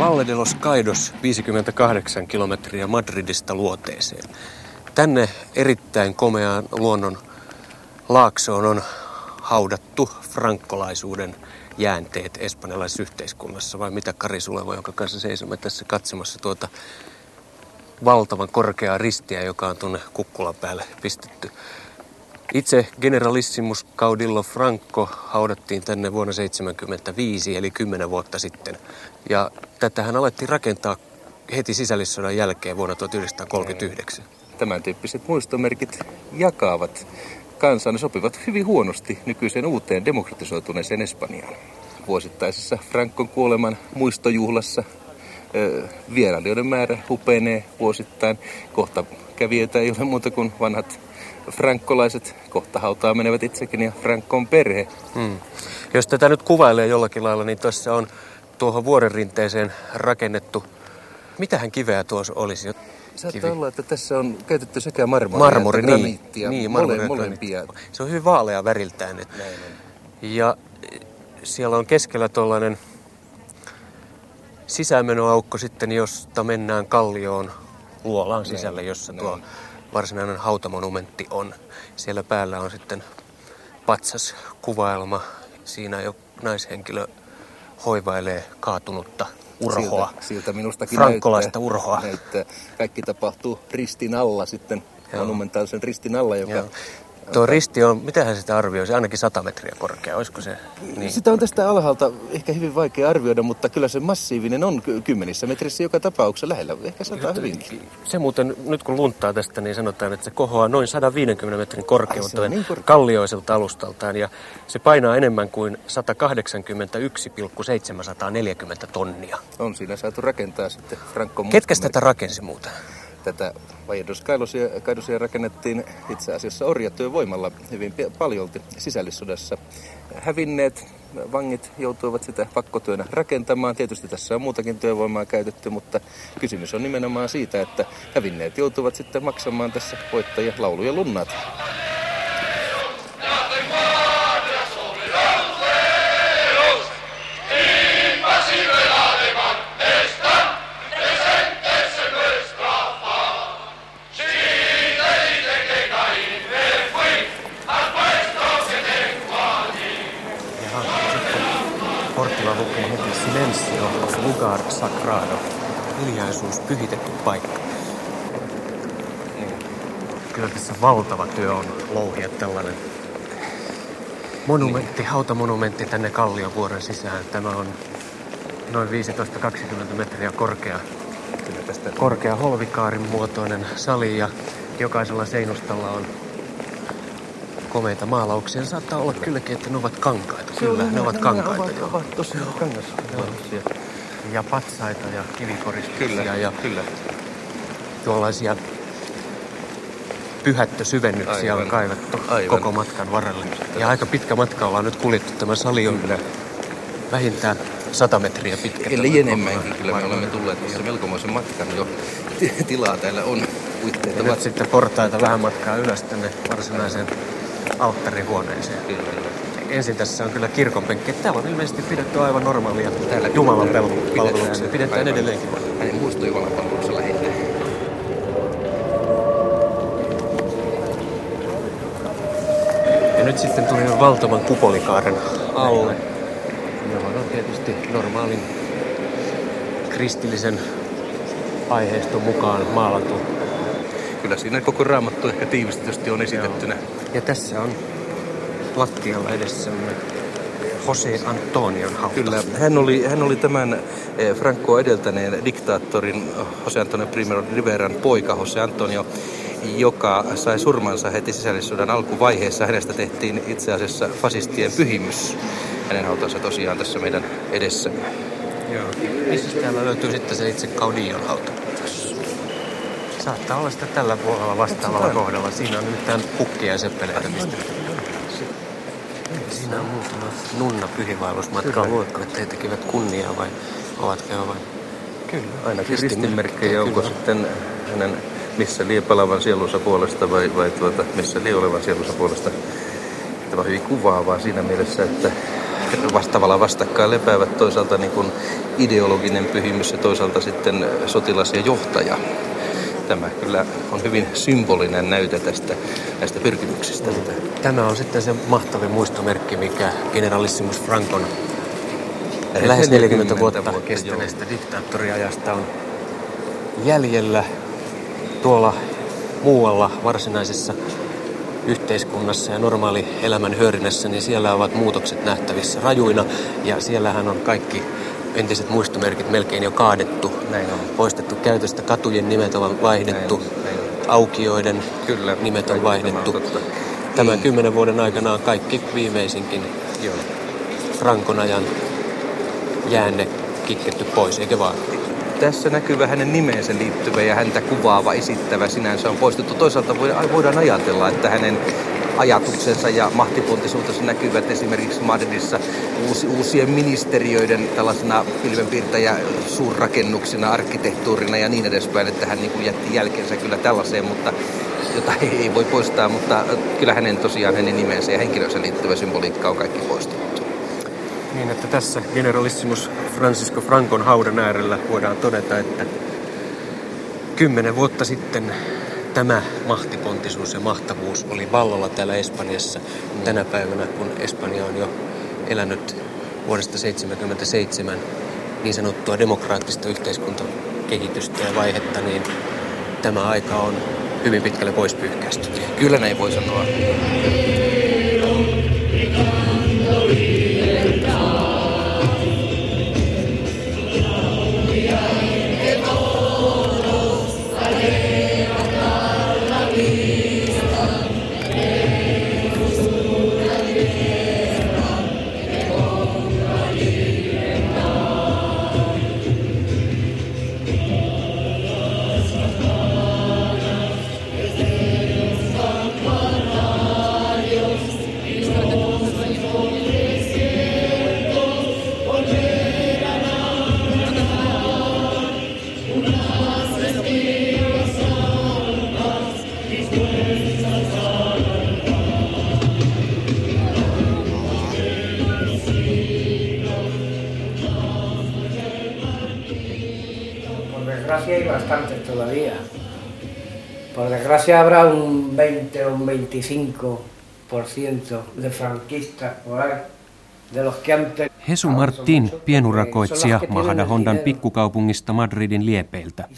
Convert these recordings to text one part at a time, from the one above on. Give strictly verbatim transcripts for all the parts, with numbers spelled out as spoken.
Valle de los Caídos, viisikymmentäkahdeksan kilometriä Madridista luoteeseen. Tänne erittäin komeaan luonnon laaksoon on haudattu frankkolaisuuden jäänteet espanjalaisessa yhteiskunnassa. Vai mitä, Kari Sulevo, jonka kanssa seisomme tässä katsomassa tuota valtavan korkeaa ristiä, joka on tuonne kukkulan päälle pistetty. Itse Generalissimus Caudillo Franco haudattiin tänne vuonna seitsemänkymmentäviisi, eli kymmenen vuotta sitten. Ja tätähän alettiin rakentaa heti sisällissodan jälkeen vuonna tuhatyhdeksänsataakolmekymmentäyhdeksän. Tämän tyyppiset muistomerkit jakavat kansaa. Ne sopivat hyvin huonosti nykyiseen uuteen demokratisoituneeseen Espanjaan. Vuosittaisessa Francon kuoleman muistojuhlassa vierailijoiden määrä hupenee vuosittain. Kohta kävijöitä ei ole muuta kuin vanhat frankkolaiset. Kohta hautaa menevät itsekin ja Francon perhe. Hmm. Jos tätä nyt kuvailee jollakin lailla, niin tuossa on tuohon vuorenrinteeseen rakennettu. Mitähän kiveä tuossa olisi? Saattaa olla, että tässä on käytetty sekä marmoria Marmori, että graniittia. Niin, mole, molempia. Se on hyvin vaalea väriltään. Että. Ja siellä on keskellä tuollainen sisäänmenoaukko sitten, josta mennään kallioon luolaan sisälle, jossa tuo Näin. varsinainen hautamonumentti on. Siellä päällä on sitten patsas kuvaelma. Siinä jo naishenkilö hoivailee kaatunutta urhoa. Siltä, siltä minustakin frankkolaista näyttää, urhoa. Näyttää. Kaikki tapahtuu ristin alla sitten, Joo. monumentaalisen ristin alla, joka... Joo. Tuo risti on, mitähän sitä arvioisi, ainakin sata metriä korkea, olisiko se? Niin. Sitä on tästä alhaalta ehkä hyvin vaikea arvioida, mutta kyllä se massiivinen on kymmenissä metrissä joka tapauksessa lähellä, ehkä sata hyvinkin. Se muuten, nyt kun lunttaa tästä, niin sanotaan, että se kohoaa noin sata viisikymmentä metrin korkeuteen niin korkea. kallioiselta alustaltaan, ja se painaa enemmän kuin sata kahdeksankymmentäyksi pilkku seitsemänsataaneljäkymmentä tonnia. On siinä saatu rakentaa sitten Franco. Ketkä tätä rakensi muuten? Tätä Valle de los Caidosia rakennettiin itse asiassa orjatyövoimalla hyvin paljolti sisällissodassa. Hävinneet vangit joutuivat sitä pakkotyönä rakentamaan. Tietysti tässä on muutakin työvoimaa käytetty, mutta kysymys on nimenomaan siitä, että hävinneet joutuvat sitten maksamaan tässä voittajia lauluja lunnaat. Portilla lukee heti Silencio, lugar sagrado, hiljaisuus, pyhitetty paikka. Kyllä tässä valtava työ on louhia tällainen monumentti, hautamonumentti tänne Kalliovuoren sisään. Tämä on noin viisitoista kaksikymmentä metriä korkea, Kyllä tästä korkea holvikaarin muotoinen sali ja jokaisella seinustalla on komeita maalauksia. Saattaa olla kylläkin, että ne ovat kankaita. Kyllä, ne, ne ovat kankaita. Ovat, ovat tosiaan kangasmaalauksia. Ja patsaita ja kivikoristuksia kyllä, ja kyllä. tuollaisia pyhättösyvennyksiä Aivan. on kaivettu Aivan. koko matkan varrelle. Ja aika pitkä matka ollaan nyt kuljettu. Tämä sali on kyllä vähintään sata metriä pitkä. Eli enemmänkin kyllä me olemme tulleet tässä melkomoisen matkan jo. Tilaa täällä on. Ja nyt sitten portaita vähän matkaa ylös tänne varsinaiseen alttarihuoneeseen. Kyllä. Ensin tässä on kyllä kirkonpenkki. Täällä on ilmeisesti pidetty aivan normaalia täällä Jumalan palveluksia. Pidetään aivan. edelleenkin. Näin muisto Jumalan palveluksessa lähinnä. Ja nyt sitten tuli valtavan kupolikaaren alle, johon on tietysti normaalin kristillisen aiheiston mukaan maalattu. Kyllä siinä koko Raamattu ehkä tiivistetysti on esitettynä. Joo. Ja tässä on lattialla edessämme Jose Antonion hauta. Kyllä, hän oli, hän oli tämän Francoa edeltäneen diktaattorin Jose Antonio Primero de Riveran poika Jose Antonio, joka sai surmansa heti sisällissodan alkuvaiheessa. Hänestä tehtiin itse asiassa fasistien pyhimys. Hänen hautansa tosiaan tässä meidän edessämme. Joo. Missä täällä löytyy sitten se itse Caudillon hauta? Saattaa olla sitä tällä puolella vastaavalla kohdalla. Siinä on nimittäin kukkia ja seppeleitä pistetty. Siinä on muutama nunna pyhiinvaellusmatkaan luokka, että he tekivät kunniaa vai ovatko he vain? Kyllä, ainakin ristinmerkkejä. Onko sitten hänen missä lie palavan sielunsa puolesta vai, vai tuota, missä lie olevan sielunsa puolesta. Tämä on hyvin kuvaavaa siinä mielessä, että vastaavalla vastakkain lepäävät toisaalta niin kuin ideologinen pyhimys ja toisaalta sitten sotilas ja johtaja. Tämä kyllä on hyvin symbolinen näyte tästä näistä pyrkimyksistä. Tämä on sitten se mahtavin muistomerkki, mikä generalissimus Francon lähes neljäkymmentä vuotta kestäneestä diktaattoriajasta on jäljellä tuolla muualla varsinaisessa yhteiskunnassa ja normaali elämän hyörinnässä, niin siellä ovat muutokset nähtävissä rajuina ja siellähän on kaikki entiset muistomerkit melkein jo kaadettu. Näin on. Poistettu käytöstä, katujen nimet on vaihdettu, näin on, näin on. Aukioiden Kyllä, nimet on vaihdettu. On Tämän kymmenen vuoden aikana on kaikki viimeisinkin Joo. Francon ajan jäänne kitketty pois, eikä vaan? Tässä näkyy hänen nimeensä liittyvä ja häntä kuvaava, esittävä sinänsä on poistettu. Toisaalta voidaan ajatella, että hänen ajatuksensa ja mahtipontisuutensa näkyvät esimerkiksi Madridissa uusi, uusien ministeriöiden tällaisena pilvenpiirtäjä suurrakennuksina, arkkitehtuurina ja niin edespäin, että hän niin kuin jätti jälkeensä kyllä tällaiseen, mutta jota ei voi poistaa, mutta kyllä hänen tosiaan hänen nimensä ja henkilönsä liittyvä symboliikka on kaikki poistettu. Niin, että tässä generalissimus Francisco Francon haudan äärellä voidaan todeta, että kymmenen vuotta sitten tämä mahtipontisuus ja mahtavuus oli vallalla täällä Espanjassa. Mm. Tänä päivänä, kun Espanja on jo elänyt vuodesta seitsemänkymmentäseitsemän niin sanottua demokraattista yhteiskuntakehitystä ja vaihetta, niin tämä aika on hyvin pitkälle pois pyyhkäisty. Kyllä näin voi sanoa. Hay bastante todavía. Por desgracia habrá un veinte o un veinticinco por ciento de franquistas por ahí. Jesu Martín, pienurakoitsija Majadahondan pikkukaupungista Madridin liepeiltä.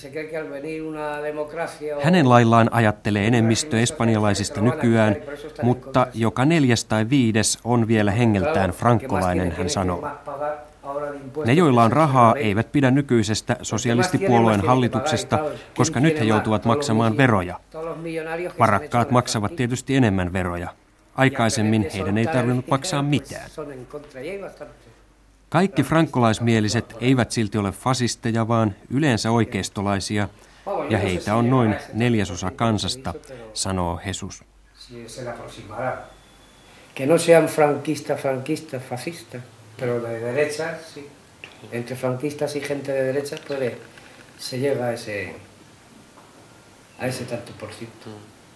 Hänen laillaan ajattelee enemmistö espanjalaisista nykyään, mutta joka neljäs tai viides on vielä hengeltään frankkolainen, hän sanoo. Ne, joilla on rahaa, eivät pidä nykyisestä sosialistipuolueen hallituksesta, koska nyt he joutuvat maksamaan veroja. Varakkaat maksavat tietysti enemmän veroja. Aikaisemmin heidän ei tarvinnut maksaa mitään. Kaikki frankkolaismieliset eivät silti ole fasisteja, vaan yleensä oikeistolaisia, ja heitä on noin neljäsosa kansasta, sanoo Jesus. Que no sean franquista, franquista, fascista, pero de derecha, sí. Entre franquistas y gente de derecha puede, se llega a ese, a ese tanto por ciento.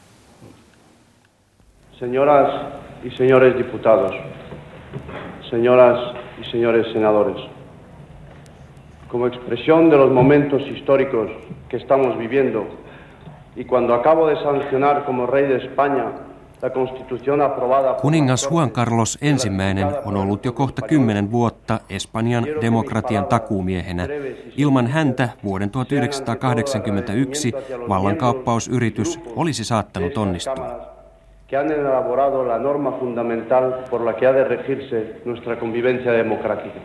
Señoras y señores diputados, señoras y señores senadores, como expresión de los momentos históricos que estamos viviendo y cuando acabo de sancionar como rey de España la constitución aprobada... Kuningas Juan Carlos ensimmäinen on ollut jo kohta kymmenen vuotta Espanjan demokratian takuumiehenä. Ilman häntä vuoden tuhatyhdeksänsataakahdeksankymmentäyksi vallankaappausyritys olisi saattanut onnistua. Que han elaborado la norma fundamental por la que ha de regirse nuestra convivencia democrática.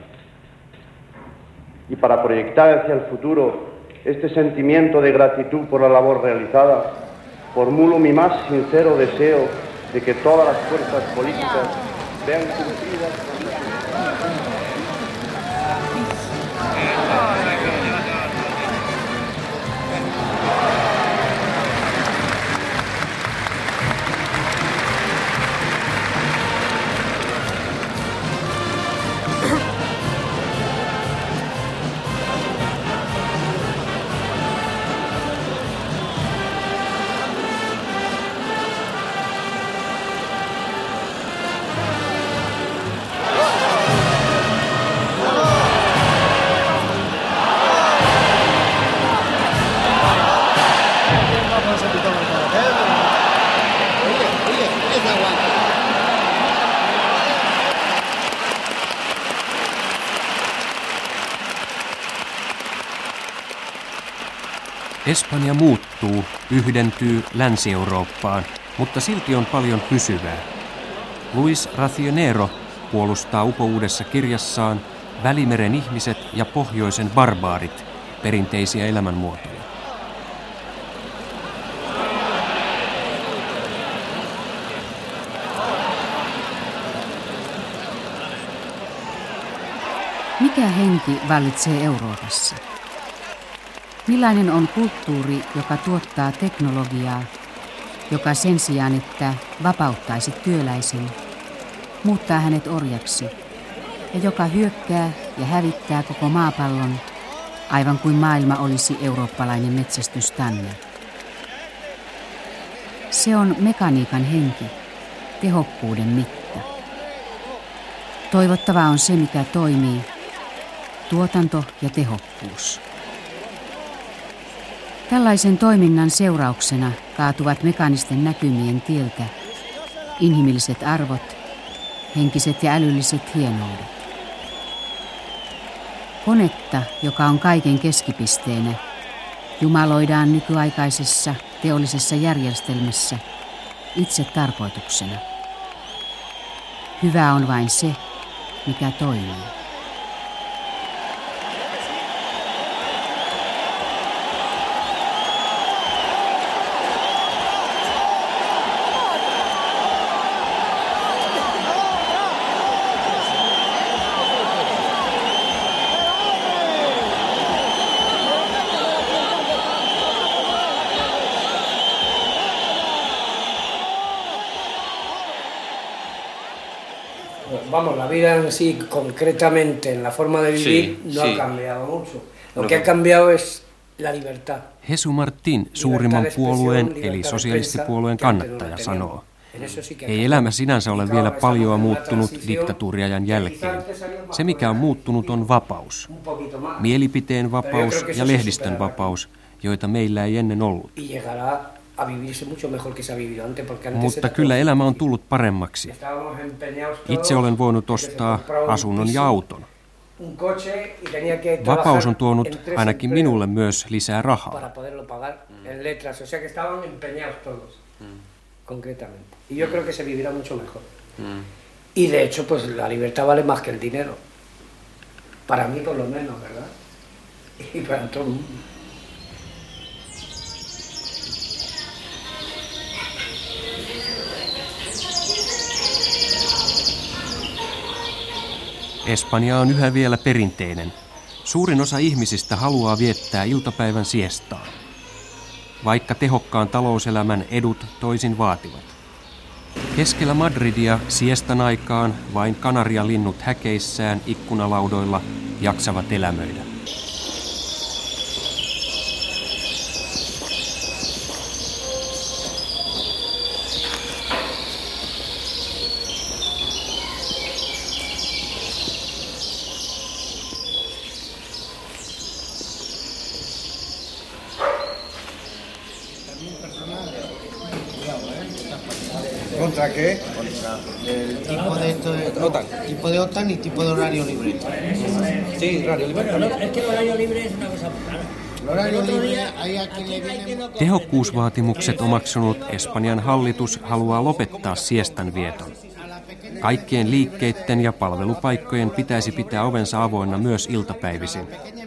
Y para proyectar hacia el futuro este sentimiento de gratitud por la labor realizada, formulo mi más sincero deseo de que todas las fuerzas políticas vean cumplidas Espanja muuttuu, yhdentyy Länsi-Eurooppaan, mutta silti on paljon pysyvää. Luis Racionero puolustaa upouudessa kirjassaan Välimeren ihmiset ja pohjoisen barbaarit, perinteisiä elämänmuotoja. Mikä henki vallitsee Euroopassa? Millainen on kulttuuri, joka tuottaa teknologiaa, joka sen sijaan, että vapauttaisi työläisen, muuttaa hänet orjaksi, ja joka hyökkää ja hävittää koko maapallon, aivan kuin maailma olisi eurooppalainen metsästystanne. Se on mekaniikan henki, tehokkuuden mitta. Toivottavaa on se, mikä toimii, tuotanto ja tehokkuus. Tällaisen toiminnan seurauksena kaatuvat mekaanisten näkymien tieltä inhimilliset arvot, henkiset ja älylliset hienoudet. Konetta, joka on kaiken keskipisteenä, jumaloidaan nykyaikaisessa teollisessa järjestelmässä itse tarkoituksena. Hyvä on vain se, mikä toimii. Vamos, la vida en sí, concretamente, en la forma de vivir, Sí, no sí. ha cambiado mucho. Lo No. que ha cambiado es la libertad. Jesu Martin, suurimman puolueen eli sosialistipuolueen kannattaja, sanoo: ei elämä sinänsä ole vielä paljoa muuttunut diktatuuriajan jälkeen. Se, mikä on muuttunut, on vapaus. Mielipiteen vapaus ja lehdistön vapaus, joita meillä ei ennen ollut. Mutta kyllä elämä on tullut paremmaksi. Itse olen voinut ostaa asunnon ja auton. Vapaus on tuonut ainakin minulle myös lisää rahaa. Concretamente. Y yo creo que se vivirá mucho mejor. Mm. Y de hecho, pues la libertad vale más que el dinero. Para mí, por lo menos, ¿verdad? Y para todo el mundo. Espanja on yhä vielä perinteinen. Suurin osa ihmisistä haluaa viettää iltapäivän siestaa, vaikka tehokkaan talouselämän edut toisin vaativat. Keskellä Madridia siestan aikaan vain kanarialinnut häkeissään ikkunalaudoilla jaksavat elämöidä. ¿Contra qué? Contra el tipo de esto de OTAN. Tipo de OTAN y tipo de horario libre. Sí, horario libre. Bueno, no, es que el horario libre es una cosa rara. El horario libre, hay a quien le viene... Tehokkuusvaatimukset omaksunut Espanjan hallitus haluaa lopettaa siestan vieton. Kaikkien liikkeiden ja palvelupaikkojen pitäisi pitää ovensa avoinna myös iltapäivisin.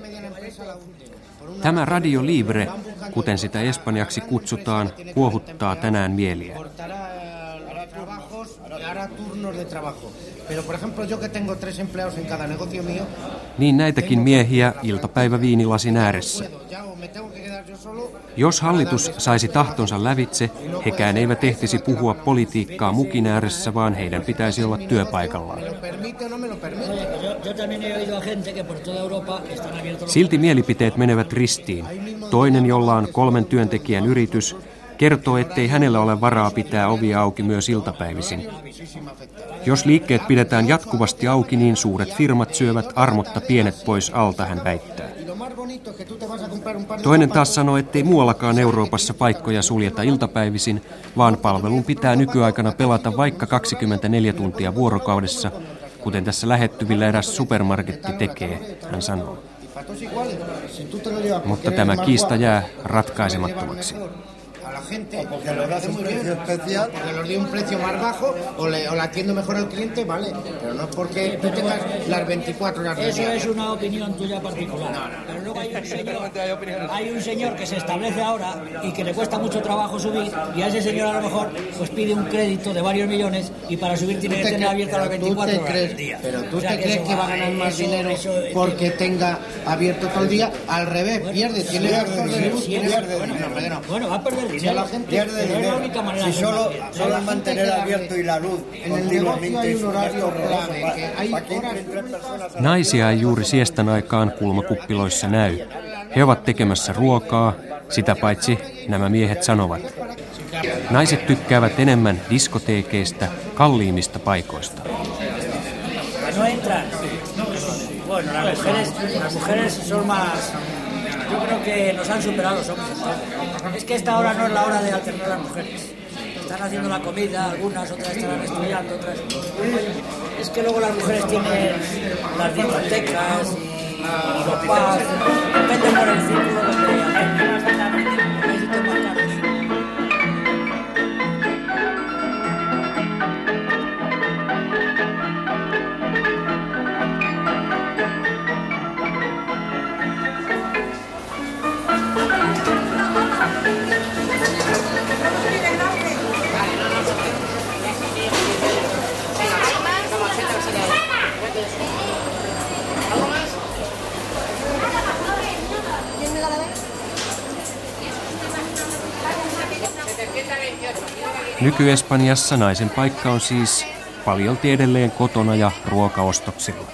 Tämä Radio Libre, kuten sitä espanjaksi kutsutaan, kuohuttaa tänään mieliä. Niin näitäkin miehiä iltapäiväviinilasin ääressä. Jos hallitus saisi tahtonsa lävitse, hekään eivät ehtisi puhua politiikkaa mukin ääressä, vaan heidän pitäisi olla työpaikallaan. Silti mielipiteet menevät ristiin. Toinen, jolla on kolmen työntekijän yritys, kertoo, ettei hänellä ole varaa pitää ovia auki myös iltapäivisin. Jos liikkeet pidetään jatkuvasti auki, niin suuret firmat syövät armotta pienet pois alta, hän väittää. Toinen taas sanoo, ettei muuallakaan Euroopassa paikkoja suljeta iltapäivisin, vaan palvelun pitää nykyaikana pelata vaikka kaksikymmentäneljä tuntia vuorokaudessa, kuten tässä lähettyvillä eräs supermarketti tekee, hän sanoo. Mutta tämä kiista jää ratkaisemattomaksi. A la gente, porque lo das un precio especial, porque lo di un precio más bajo, o le, o le atiendo mejor al cliente, vale, pero no es porque tú tengas las veinticuatro horas de Eso día. es una opinión tuya particular. No, no, pero luego hay un señor, hay un señor que se establece ahora y que le cuesta mucho trabajo subir, y a ese señor a lo mejor pues pide un crédito de varios millones y para subir tiene que tener abierto las veinticuatro horas del día. Pero tú O sea, te que crees eso que va a va- ganar más eso- dinero eso- porque tenga abierto todo el día, al revés, pierde, tiene gastos de luz, tiene Pierde, bueno, no, hombre, que no. Bueno, va a perder Si a dinero. la gente Pierde pero dinero. Es la única manera si de solo, hacerlo bien. solo mantener abierto y la luz en el negocio hay un horario clave, que hay horas. Naisia ei juuri siestan aikaan kulmakuppiloissa näy. He ovat tekemässä ruokaa, sitä paitsi nämä miehet sanovat. Naiset tykkäävät enemmän diskoteekeista, kalliimmista paikoista. No entran. Bueno, las mujeres, las mujeres son más. Yo creo que nos han superado los hombres. Es que esta hora no es la hora de alternar las mujeres. Están haciendo la comida, algunas, otras estarán estudiando, otras. Es que luego las mujeres tienen las discotecas y, y los pubs. Depende por el círculo donde hay sitios más caros. Nyky-Espanjassa naisen paikka on siis paljolti edelleen kotona ja ruokaostoksilla.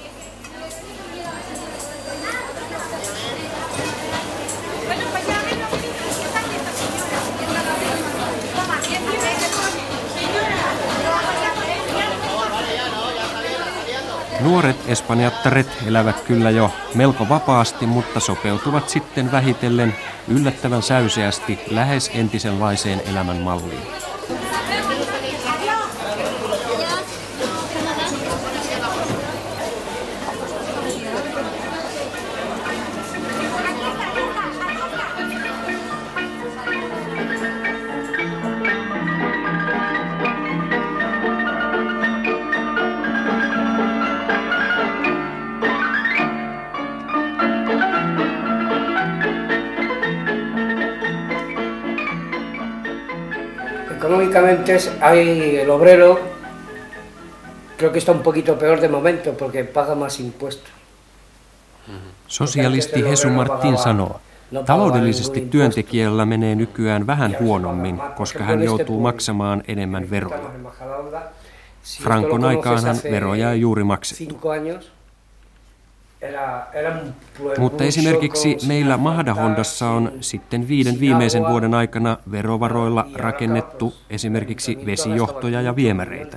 Nuoret espanjattaret elävät kyllä jo melko vapaasti, mutta sopeutuvat sitten vähitellen yllättävän säyseästi lähes entisenlaiseen elämänmalliin. Económicamente hay el obrero, creo que está un poquito peor de momento porque paga más impuestos. Sosialisti Hesu Martin sanoo, taloudellisesti työntekijällä menee nykyään vähän huonommin, koska hän joutuu maksamaan enemmän veroja. Francon aikaanhan veroja ei juuri maksettu. Mutta esimerkiksi meillä Mahdahondassa on sitten viiden viimeisen vuoden aikana verovaroilla rakennettu esimerkiksi vesijohtoja ja viemäreitä.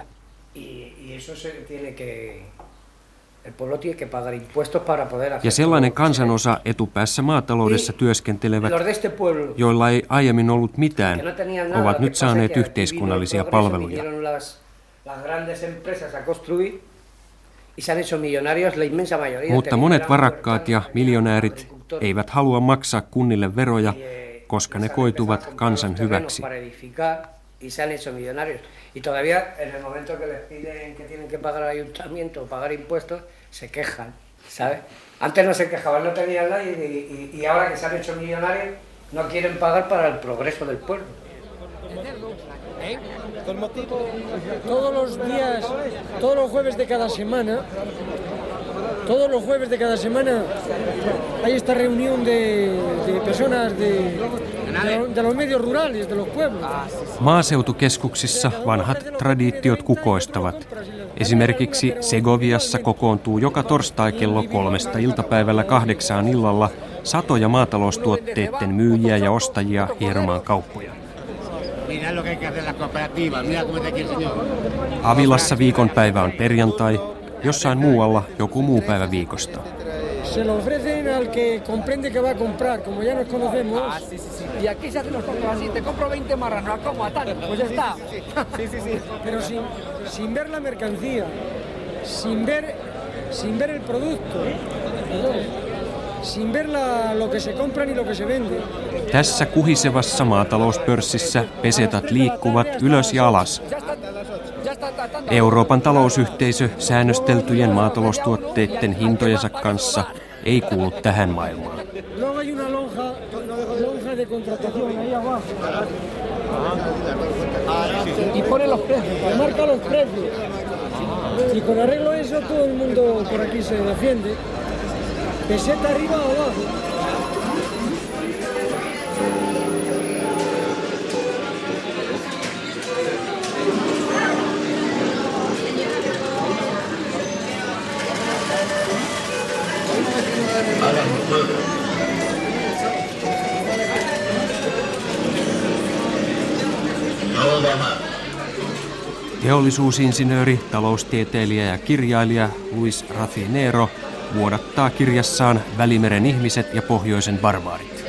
Ja sellainen kansanosa etupäässä maataloudessa työskentelevät, joilla ei aiemmin ollut mitään, ovat nyt saaneet yhteiskunnallisia palveluja. Mutta monet varakkaat ja miljonäärit eivät halua maksaa kunnille veroja, koska ne koituvat kansan hyväksi. Y todavía en el momento que les piden que tienen que pagar al ayuntamiento o pagar impuestos, se quejan, ¿sabes? Antes no se quejaban, no tenían nada y, y, y ahora que se han hecho millonarios no quieren pagar para el progreso del pueblo. ¿Eh? Todos los días, todos los jueves de cada semana, todos los jueves de cada semana hay esta reunión de, de personas de, de, de los medios rurales, de los pueblos. Maaseutukeskuksissa vanhat traditiot kukoistavat. Esimerkiksi Segoviassa kokoontuu joka torstai kello kolmesta iltapäivällä kahdeksaan illalla satoja maataloustuotteiden myyjiä ja ostajia hieromaan kauppoja. Avilassa viikonpäivä on perjantai, jossain muualla joku muu päivä viikosta. Se lo ofrecen al que comprende que va a comprar, como ya nos conocemos. Ah, sí, sí, sí. Y aquí se hacen los compras así, te compro veinte marranos, ¿cómo a tal? Pues ya está. Sí, sí, sí. Pero sin, sin ver la mercancía, sin ver, sin ver el producto. sin ver la, lo que se compra ni lo que se vende. Tässä kuhisevassa maatalouspörssissä pesetat liikkuvat ylös ja alas. Euroopan talousyhteisö säännösteltyjen maataloustuotteiden hintojensa kanssa ei kuulu tähän maailmaan. Y pone los precios, y marca los precios. Y con arreglo a eso todo el mundo por aquí se defiende. Peseta arriba o abajo. Teollisuusinsinööri, taloustieteilijä ja kirjailija Luis Rafinero vuodattaa kirjassaan Välimeren ihmiset ja pohjoisen barbaarit.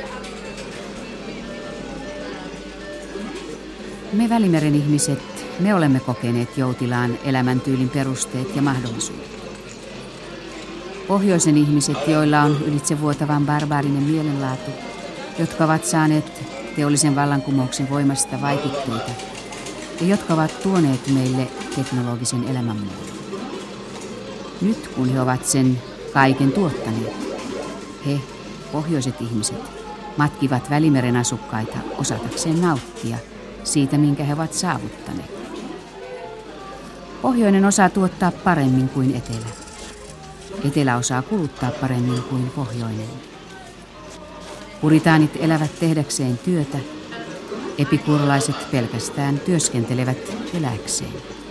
Me Välimeren ihmiset, me olemme kokeneet joutilaan elämäntyylin perusteet ja mahdollisuudet. Pohjoisen ihmiset, joilla on ylitsevuotavan barbaarinen mielenlaatu, jotka ovat saaneet teollisen vallankumouksen voimasta vaikutteita ja jotka ovat tuoneet meille teknologisen elämänmuodon. Nyt kun he ovat sen kaiken tuottaneet, he, pohjoiset ihmiset, matkivat Välimeren asukkaita osatakseen nauttia siitä, minkä he ovat saavuttaneet. Pohjoinen osaa tuottaa paremmin kuin etelä. Etelä osaa kuluttaa paremmin kuin pohjoinen. Puritaanit elävät tehdäkseen työtä, epikurlaiset pelkästään työskentelevät elääkseen.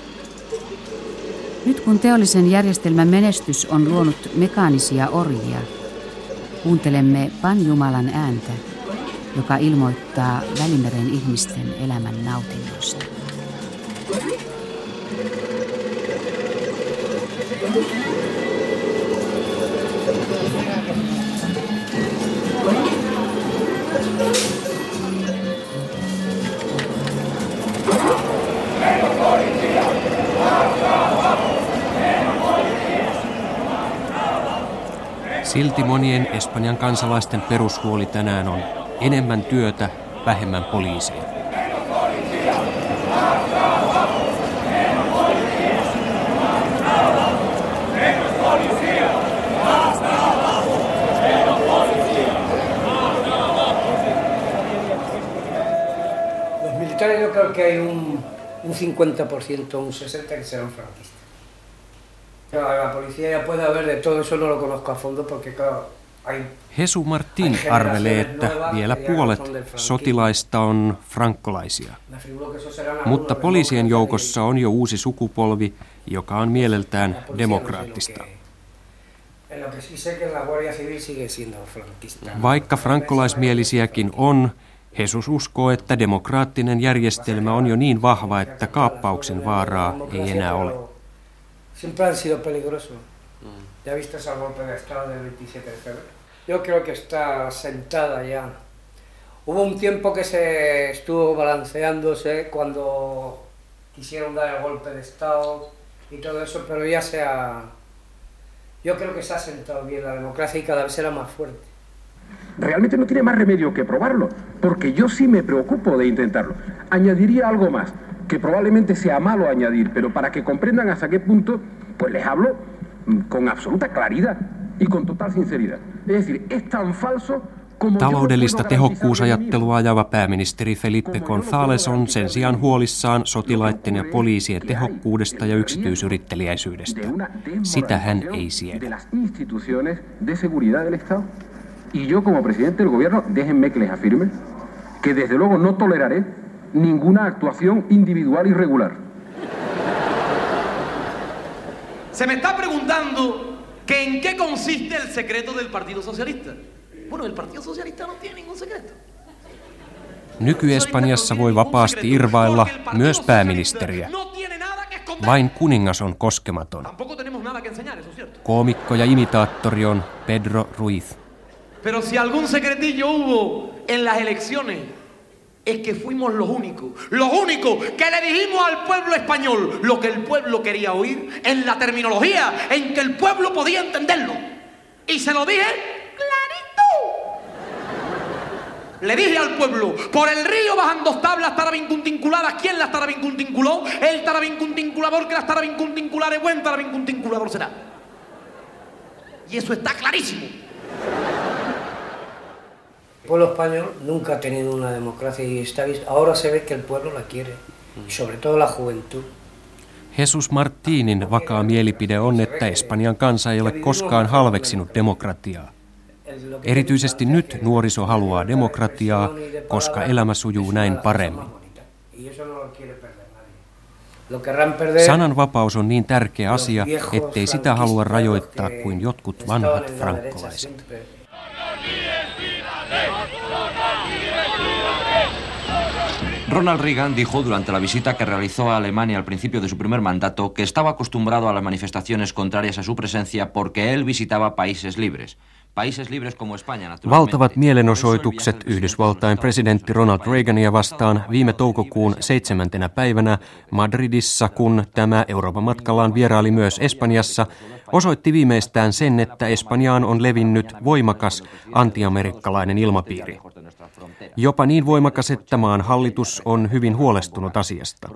Nyt kun teollisen järjestelmän menestys on luonut mekaanisia orjia, kuuntelemme Panjumalan ääntä, joka ilmoittaa Välimeren ihmisten elämän nautinnoista. Silti monien Espanjan kansalaisten perushuoli tänään on enemmän työtä, vähemmän poliiseja. Los militares yo creo que hay un, un cincuenta por ciento, un sesenta por ciento que serán franquistas. La policía ya puede haber de todo, eso no lo conozco a fondo porque claro, hay... Jesu Martin arvelee, että vielä puolet sotilaista on frankkolaisia. Mutta poliisien joukossa on jo uusi sukupolvi, joka on mieleltään demokraattista. Vaikka frankkolaismielisiäkin on, Jesus uskoo, että demokraattinen järjestelmä on jo niin vahva, että kaappauksen vaaraa ei enää ole. Siempre han sido peligrosos. Ya viste ese golpe de estado del veintisiete de febrero. Yo creo que está sentada ya. Hubo un tiempo que se estuvo balanceándose cuando quisieron dar el golpe de estado y todo eso, pero ya se ha... Yo creo que se ha sentado bien la democracia y cada vez será más fuerte. Realmente no tiene más remedio que probarlo, porque yo sí me preocupo de intentarlo. Añadiría algo más, que probablemente sea malo añadir, pero para que comprendan hasta qué punto, pues les hablo con absoluta claridad y con total sinceridad. Es decir, es tan falso como... Taloudellista tehokkuusajattelua ajava pääministeri Felipe González on sen sijaan huolissaan sotilaiden ja poliisien tehokkuudesta ja yksityisyritteliäisyydestä. Sitä hän ei siedä. Y yo como presidente del gobierno, déjenme que les afirme que desde luego no toleraré ninguna actuación individual irregular. Se me está preguntando que en qué consiste el secreto del Partido Socialista. Bueno, el Partido Socialista no tiene ningún secreto. Nyky-Espanjassa voi vapaasti irvailla myös pääministeriä. Vain kuningas on koskematon. Koomikko ja imitaattori on Pedro Ruiz. Pero si algún secretillo hubo en las elecciones, es que fuimos los únicos, los únicos que le dijimos al pueblo español lo que el pueblo quería oír en la terminología en que el pueblo podía entenderlo. Y se lo dije clarito. Le dije al pueblo, por el río bajan dos tablas tarabincuntinculadas. ¿Quién las tarabincuntinculó? El tarabincuntinculador, que las tarabincuntinculares, buen tarabincuntinculador será. Y eso está clarísimo. El pueblo español nunca ha tenido una democracia y está visto. Ahora se ve que el pueblo la quiere, y sobre todo la juventud. Jesus Martinin vakaa mielipide on, että Espanjan kansa ei ole koskaan halveksinut demokratiaa. Erityisesti nyt nuoriso haluaa demokratiaa, koska elämä sujuu näin paremmin. Sananvapaus on niin tärkeä asia, ettei sitä halua rajoittaa kuin jotkut vanhat frankkolaiset. Ronald Reagan dijo durante la visita que realizó a Alemania al principio de su primer mandato que estaba acostumbrado a las manifestaciones contrarias a su presencia porque él visitaba países libres. Valtavat mielenosoitukset Yhdysvaltain presidentti Ronald Reagania vastaan viime toukokuun seitsemäntenä päivänä Madridissa, kun tämä Euroopan matkallaan vieraili myös Espanjassa, osoitti viimeistään sen, että Espanjaan on levinnyt voimakas antiamerikkalainen ilmapiiri. Jopa niin voimakas, että maan hallitus on hyvin huolestunut asiasta.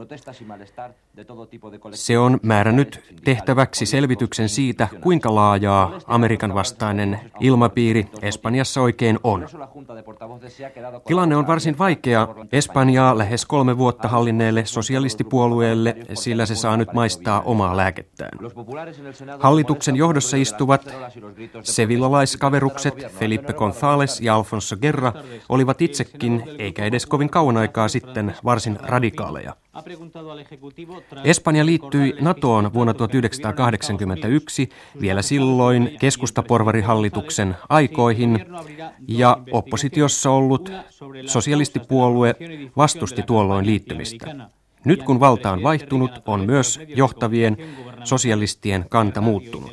Se on määrännyt tehtäväksi selvityksen siitä, kuinka laajaa Amerikan vastainen ilmapiiri Espanjassa oikein on. Tilanne on varsin vaikea Espanjaa lähes kolme vuotta hallinneelle sosialistipuolueelle, sillä se saa nyt maistaa omaa lääkettään. Hallituksen johdossa istuvat sevillalaiskaverukset Felipe González ja Alfonso Guerra olivat itsekin, eikä edes kovin kauan aikaa sitten, varsin radikaaleja. Espanja liittyi NATOon vuonna tuhatyhdeksänsataakahdeksankymmentäyksi, vielä silloin keskustaporvarihallituksen aikoihin, ja oppositiossa ollut sosialistipuolue vastusti tuolloin liittymistä. Nyt kun valta on vaihtunut, on myös johtavien sosialistien kanta muuttunut.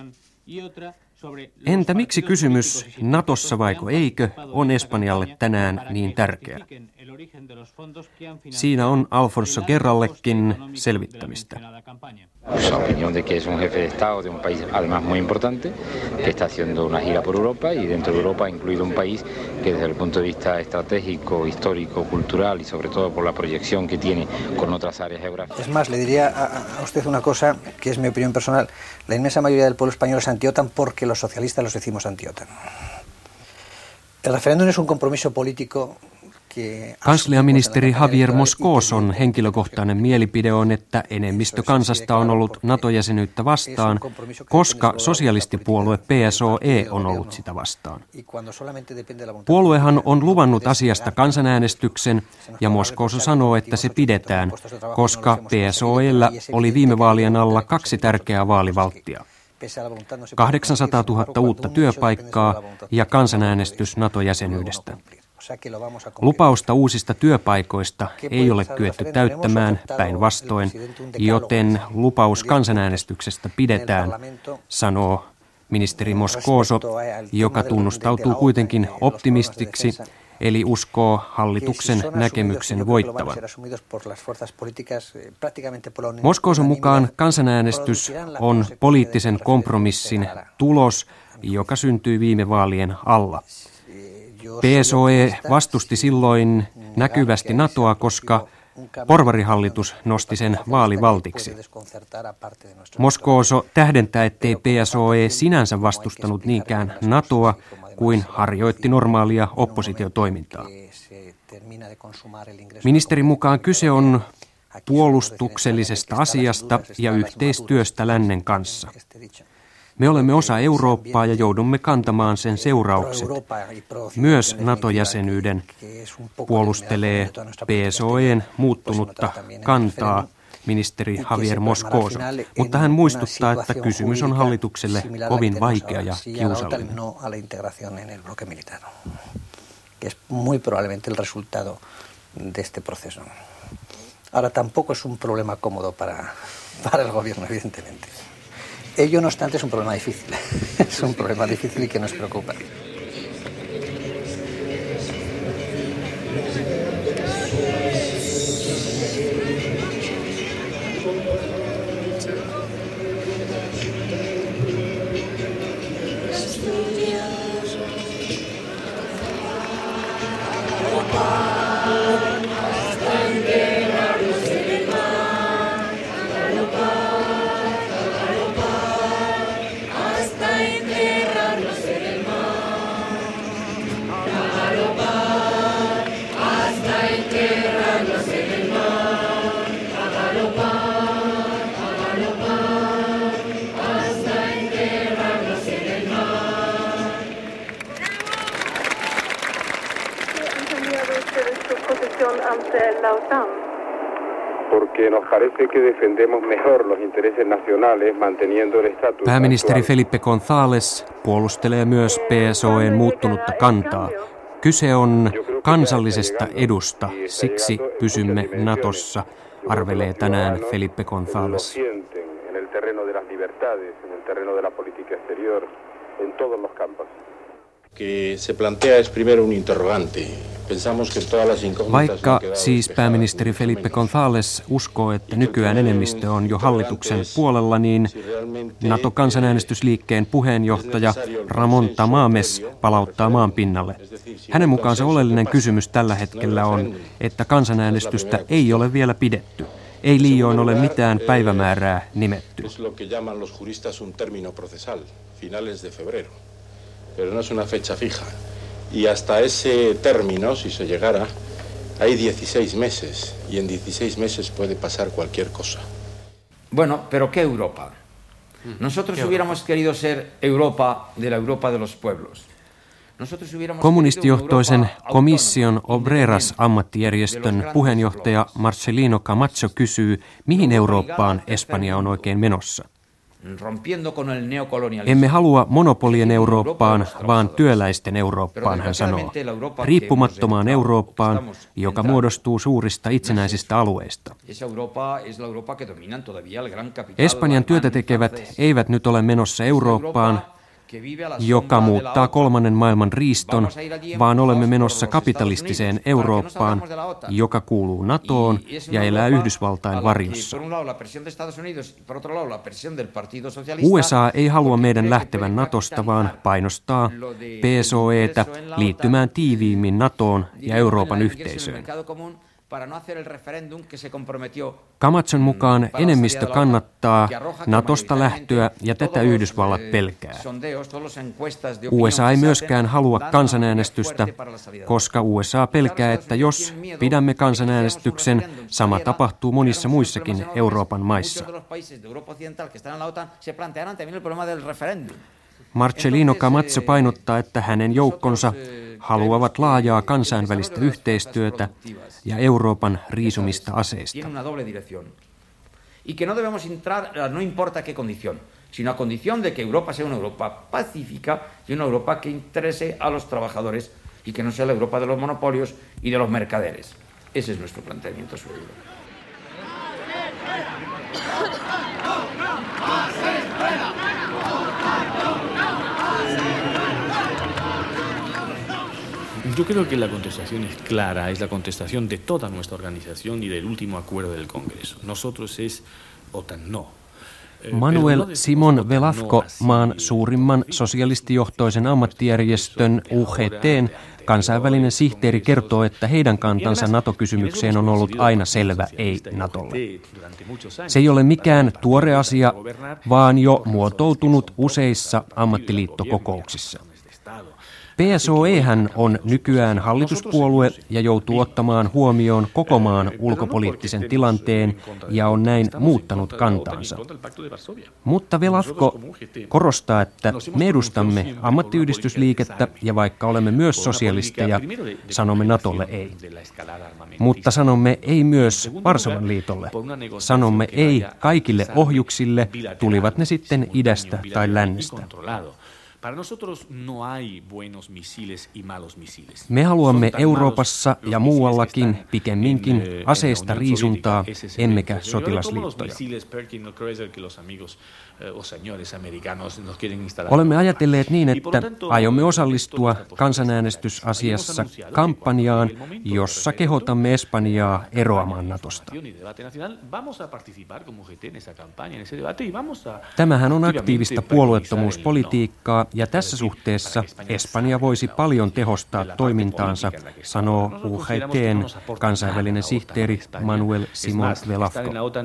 Entä miksi kysymys NATOssa vaiko eikö on Espanjalle tänään niin tärkeä? Siinä on Alfonso Guerrallekin selvittämistä. La opinión de que es un jefe de Estado de un país además muy importante, que está haciendo una gira por Europa y dentro de Europa incluido un país que desde el punto de vista estratégico, histórico, cultural y sobre todo por la proyección que tiene con otras áreas geográficas. Es más, le diría a, a usted una cosa que es mi opinión personal. La inmensa mayoría del pueblo español es anti-OTAN porque los socialistas los decimos anti-OTAN. El referéndum es un compromiso político. Kansliaministeri Javier Moscoson henkilökohtainen mielipide on, että enemmistö kansasta on ollut NATO-jäsenyyttä vastaan, koska sosialistipuolue P S O E on ollut sitä vastaan. Puoluehan on luvannut asiasta kansanäänestyksen, ja Moscoso sanoo, että se pidetään, koska P S O E:llä oli viime vaalien alla kaksi tärkeää vaalivalttia. kahdeksansataatuhatta uutta työpaikkaa ja kansanäänestys NATO-jäsenyydestä. Lupausta uusista työpaikoista ei ole kyetty täyttämään, päinvastoin, joten lupaus kansanäänestyksestä pidetään, sanoo ministeri Moscoso, joka tunnustautuu kuitenkin optimistiksi, eli uskoo hallituksen näkemyksen voittavan. Moskoson mukaan kansanäänestys on poliittisen kompromissin tulos, joka syntyi viime vaalien alla. P S O E vastusti silloin näkyvästi NATOa, koska porvarihallitus nosti sen vaalivaltiksi. Moscoso tähdentää, ettei P S O E sinänsä vastustanut niinkään NATOa kuin harjoitti normaalia oppositiotoimintaa. Ministerin mukaan kyse on puolustuksellisesta asiasta ja yhteistyöstä lännen kanssa. Me olemme osa Eurooppaa ja joudumme kantamaan sen seuraukset. Myös NATO-jäsenyyden puolustelee P S O E:n muuttunutta kantaa ministeri Javier Moscoso, mutta hän muistuttaa, että kysymys on hallitukselle kovin vaikea ja kiusallinen. Ahora tampoco es un problema cómodo para, para el gobierno, evidentemente. Ello, no obstante, es un problema difícil. Es un problema difícil y que nos preocupa. la OTAN? Porque nos parece que defendemos mejor los intereses nacionales manteniendo el estatus. Pääministeri Felipe González puolustelee myös P S O E:n muuttunutta kantaa. Kyse on kansallisesta edusta, siksi pysymme Natossa, arvelee tänään Felipe González. Vaikka siis pääministeri Felipe González uskoo, että nykyään enemmistö on jo hallituksen puolella, niin NATO-kansanäänestysliikkeen puheenjohtaja Ramon Tamames palauttaa maan pinnalle. Hänen mukaansa oleellinen kysymys tällä hetkellä on, että kansanäänestystä ei ole vielä pidetty. Ei liioin ole mitään päivämäärää nimetty. Pero no es una fecha fija. Y hasta ese término, si se llegara, hay dieciséis meses. Y en dieciséis meses puede pasar cualquier cosa. Bueno, pero ¿qué Europa? Nosotros hubiéramos querido ser Europa de la Europa de los pueblos. Kommunistijohtoisen komission Obreras-ammattijärjestön puheenjohtaja Marcelino Camacho kysyy, mihin Eurooppaan Espanja on oikein menossa. Emme halua monopolien Eurooppaan, vaan työläisten Eurooppaan, hän sanoo. Riippumattomaan Eurooppaan, joka muodostuu suurista itsenäisistä alueista. Espanjan työtä tekevät eivät nyt ole menossa Eurooppaan, joka muuttaa kolmannen maailman riiston, vaan olemme menossa kapitalistiseen Eurooppaan, joka kuuluu NATOon ja elää Yhdysvaltain varjossa. U S A ei halua meidän lähtevän NATOsta, vaan painostaa P S O E:tä liittymään tiiviimmin NATOon ja Euroopan yhteisöön. Camachon mukaan enemmistö kannattaa NATOsta lähtöä ja tätä Yhdysvallat pelkää. U S A ei myöskään halua kansanäänestystä, koska U S A pelkää, että jos pidämme kansanäänestyksen, sama tapahtuu monissa muissakin Euroopan maissa. Marcelino Camacho painottaa, että hänen joukkonsa haluavat laajaa kansainvälistä yhteistyötä ja Euroopan riisumista aseista. Y que no debemos entrar, no importa qué condición, sino a condición de que Europa sea una Europa pacífica y una Europa que interese a los trabajadores y que no sea la Europa de los monopolios y de los mercaderes. Ese es nuestro planteamiento sobre Europa. Yo creo que la contestación es clara, es la contestación de toda nuestra organización y del último acuerdo del Congreso. Nosotros es OTAN no. Manuel Simon Velasco, maan suurimman sosialistijohtoisen ammattijärjestön U G T:n kansainvälinen sihteeri, kertoo, että heidän kantansa NATO-kysymykseen on ollut aina selvä ei NATOlle. Se ei ole mikään tuore asia, vaan jo muotoutunut useissa ammattiliittokokouksissa. P S O E:hän on nykyään hallituspuolue ja joutuu ottamaan huomioon koko maan ulkopoliittisen tilanteen ja on näin muuttanut kantaansa. Mutta Velasco korostaa, että me edustamme ammattiyhdistysliikettä ja vaikka olemme myös sosialisteja, sanomme NATOlle ei. Mutta sanomme ei myös Varsovan liitolle. Sanomme ei kaikille ohjuksille, tulivat ne sitten idästä tai lännestä. Me haluamme Euroopassa ja muuallakin pikemminkin aseista riisuntaa, emmekä sotilasliittoja. Olemme ajatelleet niin, että aiomme osallistua kansanäänestysasiassa kampanjaan, jossa kehotamme Espanjaa eroamaan NATOsta. Tämähän on aktiivista puolueettomuuspolitiikkaa ja tässä suhteessa Espanja voisi paljon tehostaa toimintaansa, sanoo U G T:n kansainvälinen sihteeri Manuel Simon Velasco.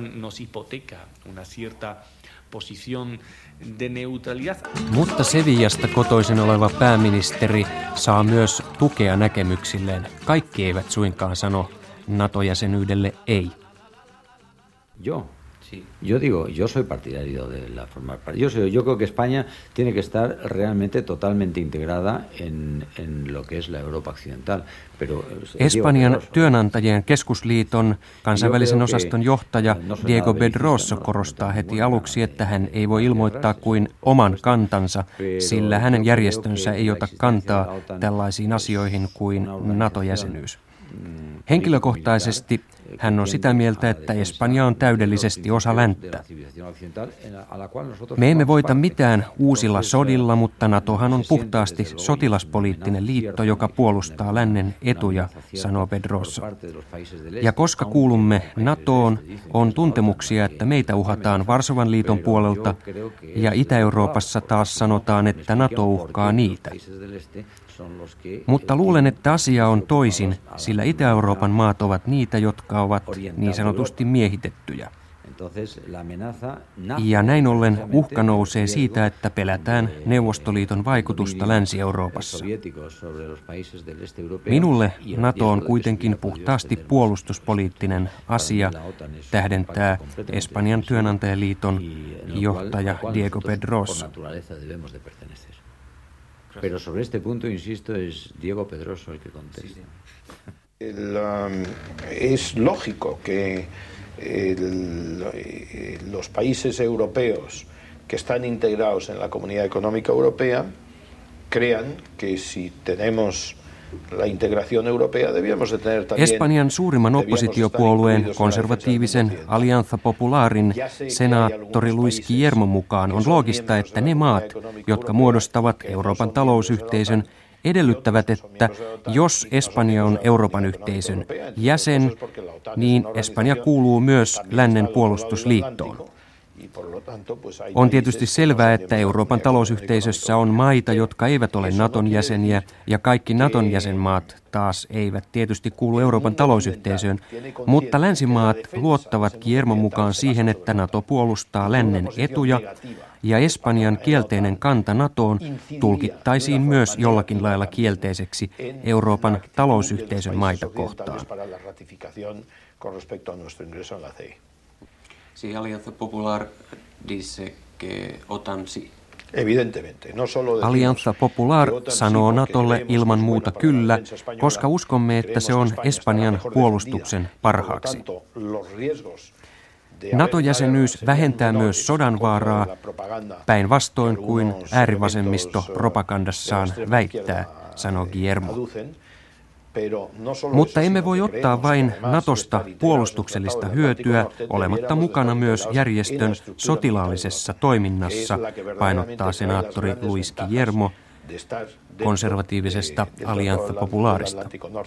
Mutta Sevillasta kotoisin oleva pääministeri saa myös tukea näkemyksilleen. Kaikki eivät suinkaan sano NATO-jäsenyydelle ei. Yo, Sí. Yo digo, yo soy partidario de la formar parte. Yo, soy, yo creo que España tiene que estar realmente totalmente integrada en, en lo que es la Europa occidental. Pero, Espanjan työnantajien keskusliiton kansainvälisen osaston johtaja Diego Pedroso korostaa heti aluksi, että hän ei voi ilmoittaa kuin oman kantansa, sillä hänen järjestönsä ei ota kantaa tällaisiin asioihin kuin NATO-jäsenyys. Henkilökohtaisesti hän on sitä mieltä, että Espanja on täydellisesti osa länttä. Me emme voita mitään uusilla sodilla, mutta NATOhan on puhtaasti sotilaspoliittinen liitto, joka puolustaa lännen etuja, sanoo Pedroso. Ja koska kuulumme NATOon, on tuntemuksia, että meitä uhataan Varsovan liiton puolelta, ja Itä-Euroopassa taas sanotaan, että NATO uhkaa niitä. Mutta luulen, että asia on toisin, sillä Itä-Euroopan maat ovat niitä, jotka ovat niin sanotusti miehitettyjä. Ja näin ollen uhka nousee siitä, että pelätään Neuvostoliiton vaikutusta Länsi-Euroopassa. Minulle NATO on kuitenkin puhtaasti puolustuspoliittinen asia, tähdentää Espanjan työnantajaliiton johtaja Diego Pedroso. Pero sobre este punto, insisto, es Diego Pedroso el que contesta. El, um, es lógico que el, los países europeos que están integrados en la Comunidad Económica Europea crean que si tenemos la integración europea debíamos de tener también. Espanjan suurimman oppositiopuolueen konservatiivisen Alianza Popularin senaattori Luis Guillermo mukaan on loogista, että ne maat, jotka muodostavat Euroopan talousyhteisön, edellyttävät, että jos Espanja on Euroopan yhteisön jäsen, niin Espanja kuuluu myös lännen puolustusliittoon. On tietysti selvää, että Euroopan talousyhteisössä on maita, jotka eivät ole NATOn jäseniä, ja kaikki NATOn jäsenmaat taas eivät tietysti kuulu Euroopan talousyhteisöön, mutta länsimaat luottavat Guillermon mukaan siihen, että NATO puolustaa lännen etuja, ja Espanjan kielteinen kanta NATOon tulkittaisiin myös jollakin lailla kielteiseksi Euroopan talousyhteisön maita kohtaan. Si Alianza Popular dice que OTAN sí. Alianza Popular sanoo NATOlle ilman muuta kyllä, koska uskomme, että se on Espanjan puolustuksen parhaaksi. NATO-jäsenyys vähentää myös sodan vaaraa, päinvastoin kuin äärivasemmisto propagandassaan väittää, sanoo Guillermo. Mutta emme voi ottaa vain NATOsta puolustuksellista hyötyä olematta mukana myös järjestön sotilaallisessa toiminnassa, painottaa senaattori Luis Guillermo konservatiivisesta Alianza Popularista.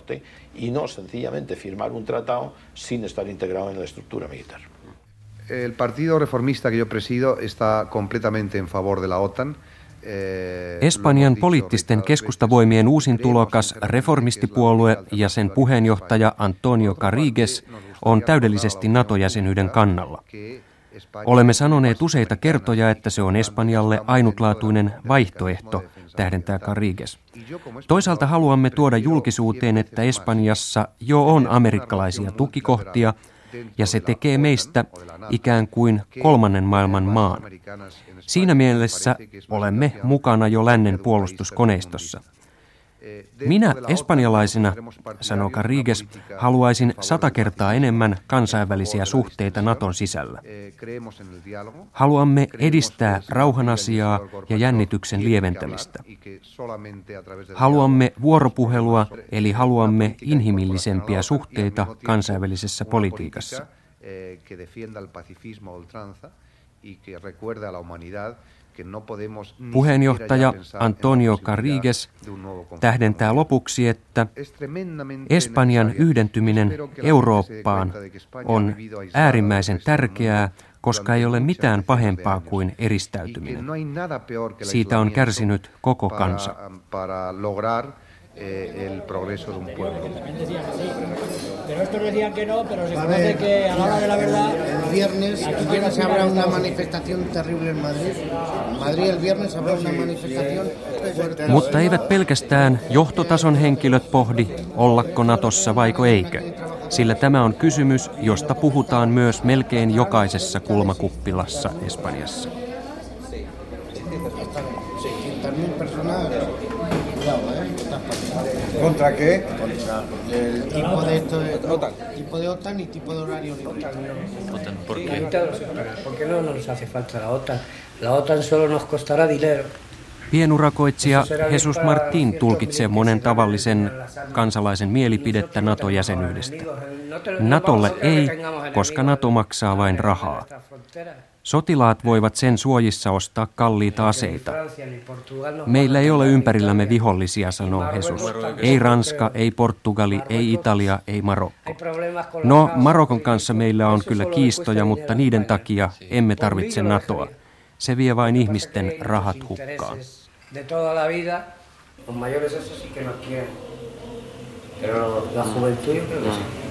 El partido reformista que yo presido está completamente en favor de la OTAN. Espanjan poliittisten keskustavoimien uusin tulokas reformistipuolue ja sen puheenjohtaja Antonio Carigues on täydellisesti NATO-jäsenyyden kannalla. Olemme sanoneet useita kertoja, että se on Espanjalle ainutlaatuinen vaihtoehto, tähdentää Carigues. Toisaalta haluamme tuoda julkisuuteen, että Espanjassa jo on amerikkalaisia tukikohtia, ja se tekee meistä ikään kuin kolmannen maailman maan. Siinä mielessä olemme mukana jo lännen puolustuskoneistossa. Minä espanjalaisena, sanoo Carigues, haluaisin sata kertaa enemmän kansainvälisiä suhteita NATOn sisällä. Haluamme edistää rauhanasiaa ja jännityksen lieventämistä. Haluamme vuoropuhelua, eli haluamme inhimillisempiä suhteita kansainvälisessä politiikassa. Puheenjohtaja Antonio Carigues tähdentää lopuksi, että Espanjan yhdentyminen Eurooppaan on äärimmäisen tärkeää, koska ei ole mitään pahempaa kuin eristäytyminen. Siitä on kärsinyt koko kansa. El progreso de un pueblo. Pero estos decían que no, pero se conoce que a la hora de la verdad. El viernes, el viernes habrá una manifestación terrible en Madrid. Madrid el viernes habrá una manifestación fuerte. Mutta eivät pelkästään johtotason henkilöt pohdi, ollako Natossa vaiko eikö. Sillä tämä on kysymys, josta puhutaan myös melkein jokaisessa kulmakuppilassa Espanjassa. ¿Contra qué? Contra el tipo de, esto de OTAN. Tipo de OTAN y tipo de horario libre. OTAN, ¿por qué? Porque no nos hace falta la OTAN. La OTAN solo nos costará dinero. Pienurakoitsija Jesus Martín tulkitsee monen tavallisen kansalaisen mielipidettä NATO-jäsenyydestä. NATOlle ei, koska NATO maksaa vain rahaa. Sotilaat voivat sen suojissa ostaa kalliita aseita. Meillä ei ole ympärillämme vihollisia, sanoo Jesus. Ei Ranska, ei Portugali, ei Italia, ei Marokko. No, Marokon kanssa meillä on kyllä kiistoja, mutta niiden takia emme tarvitse NATOa. Se vie vain ihmisten rahat hukkaan. De toda la vida, los mayores eso sí que no quieren. Pero la juventud yo creo que sí.